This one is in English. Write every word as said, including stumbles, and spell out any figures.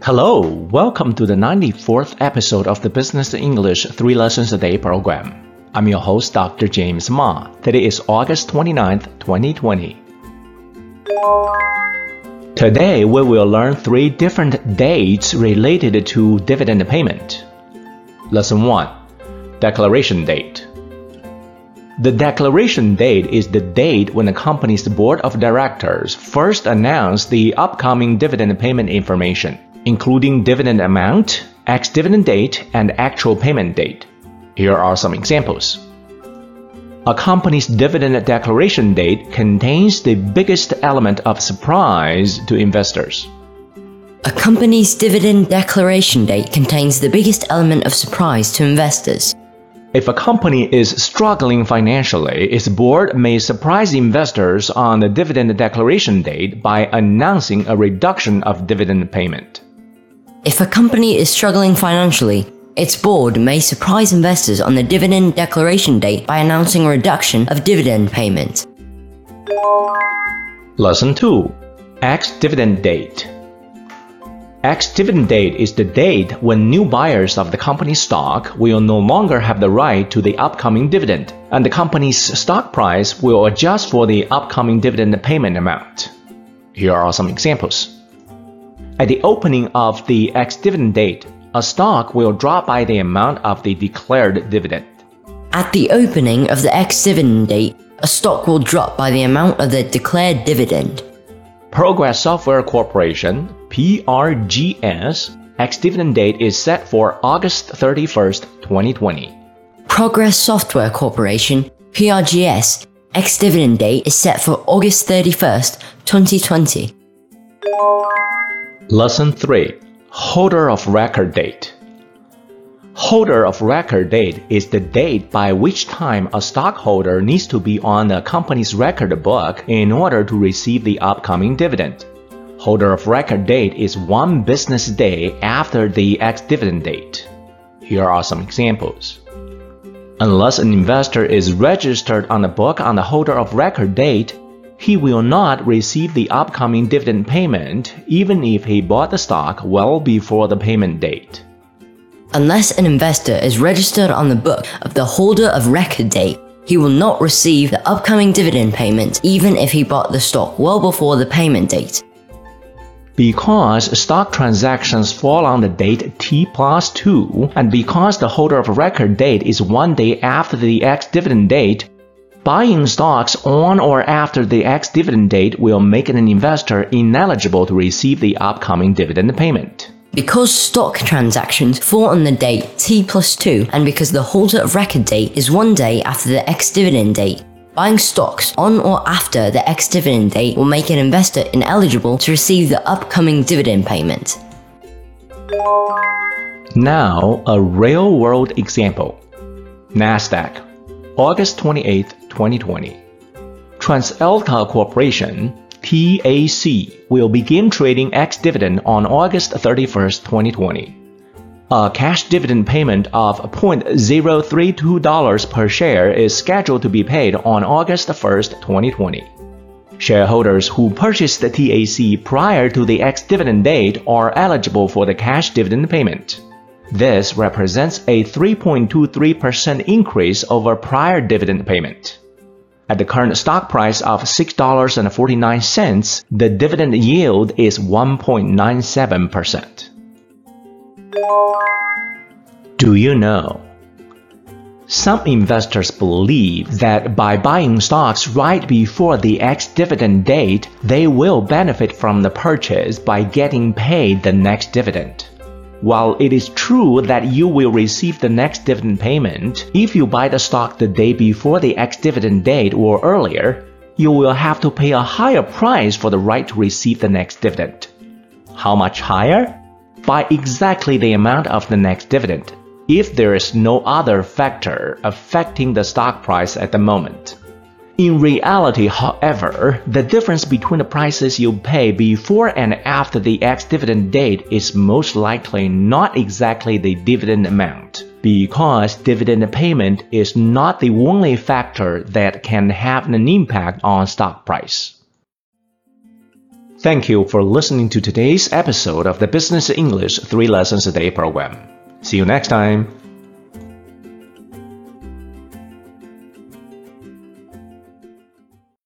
Hello, welcome to the ninety-fourth episode of the Business English three Lessons a Day program. I'm your host, Doctor James Ma. Today is August twenty-ninth, twenty twenty. Today, we will learn three different dates related to dividend payment. Lesson one. Declaration date. The declaration date is the date when the company's board of directors first announced the upcoming dividend payment information, including dividend amount, ex-dividend date, and actual payment date. Here are some examples. A company's dividend declaration date contains the biggest element of surprise to investors. A company's dividend declaration date contains the biggest element of surprise to investors. If a company is struggling financially, its board may surprise investors on the dividend declaration date by announcing a reduction of dividend payment. If a company is struggling financially, its board may surprise investors on the dividend declaration date by announcing a reduction of dividend payment. Lesson two. Ex-dividend date. Ex-dividend date is the date when new buyers of the company's stock will no longer have the right to the upcoming dividend, and the company's stock price will adjust for the upcoming dividend payment amount. Here are some examples. At the opening of the ex-dividend date, a stock will drop by the amount of the declared dividend. At the opening of the ex-dividend date, a stock will drop by the amount of the declared dividend. Progress Software Corporation, P R G S, ex-dividend date is set for August thirty-first, twenty twenty. Progress Software Corporation, P R G S, ex-dividend date is set for August thirty-first, twenty twenty. Lesson three. Holder of record date. Holder of record date is the date by which time a stockholder needs to be on the company's record book in order to receive the upcoming dividend. Holder of record date is one business day after the ex-dividend date. Here are some examples. Unless an investor is registered on the book on the holder of record date, he will not receive the upcoming dividend payment even if he bought the stock well before the payment date. Unless an investor is registered on the book of the holder of record date, he will not receive the upcoming dividend payment even if he bought the stock well before the payment date. Because stock transactions fall on the date T plus two, and because the holder of record date is one day after the ex-dividend date, buying stocks on or after the ex-dividend date will make an investor ineligible to receive the upcoming dividend payment. Because stock transactions fall on the date T plus two, and because the holder of record date is one day after the ex-dividend date, buying stocks on or after the ex-dividend date will make an investor ineligible to receive the upcoming dividend payment. Now, a real-world example. NASDAQ, August twenty-eighth, twenty twenty. TransAlta Corporation, T A C, will begin trading ex-dividend on August thirty-first, twenty twenty. A cash dividend payment of zero point zero three two dollars per share is scheduled to be paid on August first, twenty twenty. Shareholders who purchased the T A C prior to the ex-dividend date are eligible for the cash dividend payment. This represents a three point two three percent increase over prior dividend payment. At the current stock price of six dollars and forty-nine cents, the dividend yield is one point nine seven percent. Do you know? Some investors believe that by buying stocks right before the ex-dividend date, they will benefit from the purchase by getting paid the next dividend. While it is true that you will receive the next dividend payment if you buy the stock the day before the ex-dividend date or earlier, you will have to pay a higher price for the right to receive the next dividend. How much higher? By exactly the amount of the next dividend, if there is no other factor affecting the stock price at the moment. In reality, however, the difference between the prices you pay before and after the ex-dividend date is most likely not exactly the dividend amount, because dividend payment is not the only factor that can have an impact on stock price. Thank you for listening to today's episode of the Business English three Lessons a Day program. See you next time.